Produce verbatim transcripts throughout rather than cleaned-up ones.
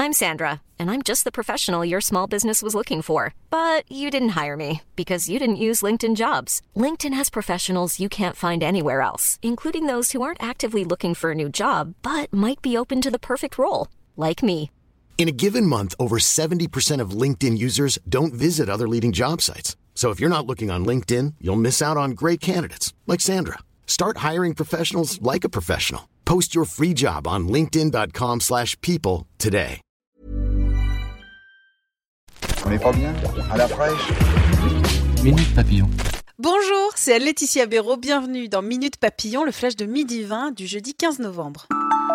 I'm Sandra, and I'm just the professional your small business was looking for. But you didn't hire me because you didn't use LinkedIn Jobs. LinkedIn has professionals you can't find anywhere else, including those who aren't actively looking for a new job, but might be open to the perfect role, like me. In a given month, over seventy percent of LinkedIn users don't visit other leading job sites. So if you're not looking on LinkedIn, you'll miss out on great candidates like Sandra. Start hiring professionals like a professional. Post your free job on linkedin.com slash people today. On est pas bien? À la fraîche? Minute Papillon. Bonjour, c'est Anne-Laetitia Béraud. Bienvenue dans Minute Papillon, le flash de midi vingt du jeudi quinze novembre.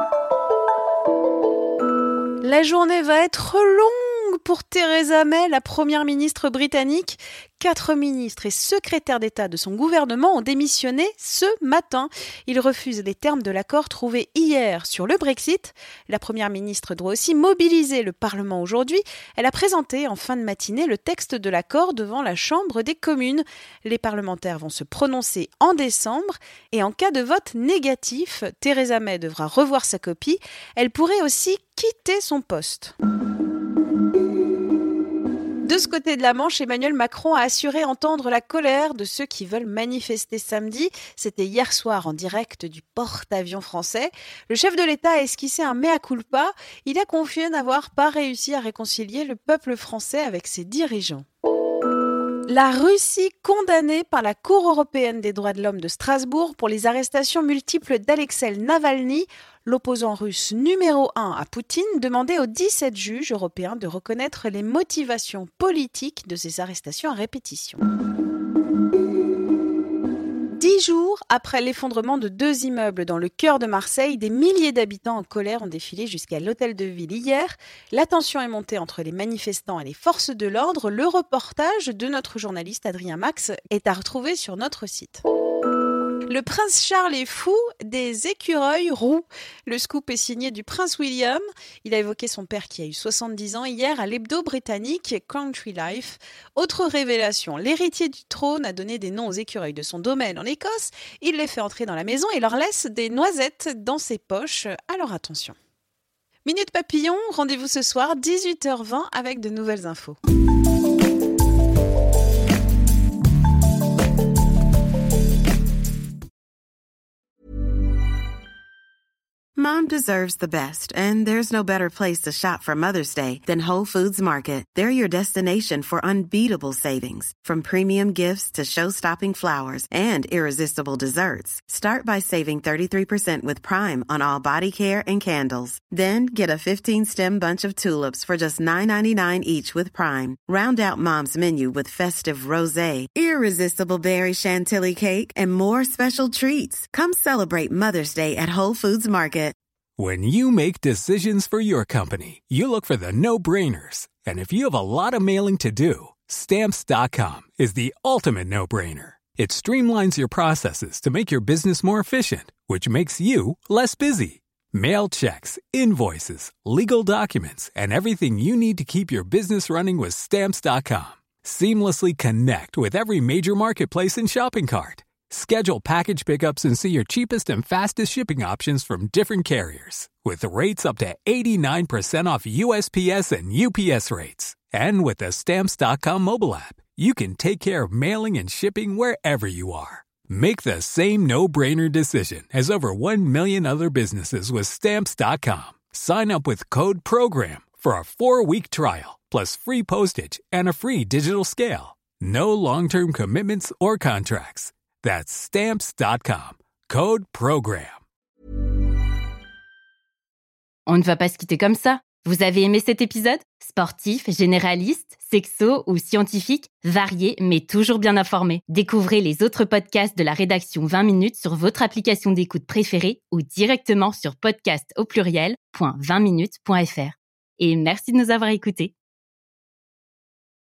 La journée va être longue pour Theresa May, la première ministre britannique. Quatre ministres et secrétaires d'État de son gouvernement ont démissionné ce matin. Ils refusent les termes de l'accord trouvé hier sur le Brexit. La première ministre doit aussi mobiliser le Parlement aujourd'hui. Elle a présenté en fin de matinée le texte de l'accord devant la Chambre des communes. Les parlementaires vont se prononcer en décembre et en cas de vote négatif, Theresa May devra revoir sa copie. Elle pourrait aussi quitter son poste. De ce côté de la Manche, Emmanuel Macron a assuré entendre la colère de ceux qui veulent manifester samedi. C'était hier soir en direct du porte-avions français. Le chef de l'État a esquissé un mea culpa. Il a confié n'avoir pas réussi à réconcilier le peuple français avec ses dirigeants. La Russie condamnée par la Cour européenne des droits de l'homme de Strasbourg pour les arrestations multiples d'Alexei Navalny, l'opposant russe numéro un à Poutine, demandait aux dix-sept juges européens de reconnaître les motivations politiques de ces arrestations à répétition. Dix jours après l'effondrement de deux immeubles dans le cœur de Marseille, des milliers d'habitants en colère ont défilé jusqu'à l'hôtel de ville hier. La tension est montée entre les manifestants et les forces de l'ordre. Le reportage de notre journaliste Adrien Max est à retrouver sur notre site. Le prince Charles est fou des écureuils roux. Le scoop est signé du prince William. Il a évoqué son père qui a eu soixante-dix ans hier à l'hebdo britannique Country Life. Autre révélation, l'héritier du trône a donné des noms aux écureuils de son domaine en Écosse. Il les fait entrer dans la maison et leur laisse des noisettes dans ses poches. Alors attention. Minute Papillon, rendez-vous ce soir dix-huit heures vingt avec de nouvelles infos. Mom deserves the best, and there's no better place to shop for Mother's Day than Whole Foods Market. They're your destination for unbeatable savings, from premium gifts to show-stopping flowers and irresistible desserts. Start by saving thirty-three percent with Prime on all body care and candles. Then get a fifteen-stem bunch of tulips for just nine ninety-nine each with Prime. Round out Mom's menu with festive rosé, irresistible berry chantilly cake, and more special treats. Come celebrate Mother's Day at Whole Foods Market. When you make decisions for your company, you look for the no-brainers. And if you have a lot of mailing to do, Stamps dot com is the ultimate no-brainer. It streamlines your processes to make your business more efficient, which makes you less busy. Mail checks, invoices, legal documents, and everything you need to keep your business running with Stamps dot com. Seamlessly connect with every major marketplace and shopping cart. Schedule package pickups and see your cheapest and fastest shipping options from different carriers. With rates up to eighty-nine percent off U S P S and U P S rates. And with the Stamps dot com mobile app, you can take care of mailing and shipping wherever you are. Make the same no-brainer decision as over one million other businesses with Stamps dot com. Sign up with code PROGRAM for a four-week trial, plus free postage and a free digital scale. No long-term commitments or contracts. That's Stamps dot com. Code PROGRAM. On ne va pas se quitter comme ça. Vous avez aimé cet épisode ? Sportif, généraliste, sexo ou scientifique, varié mais toujours bien informé. Découvrez les autres podcasts de la rédaction vingt minutes sur votre application d'écoute préférée ou directement sur podcast au pluriel point vingt minutes point f r. Et merci de nous avoir écoutés.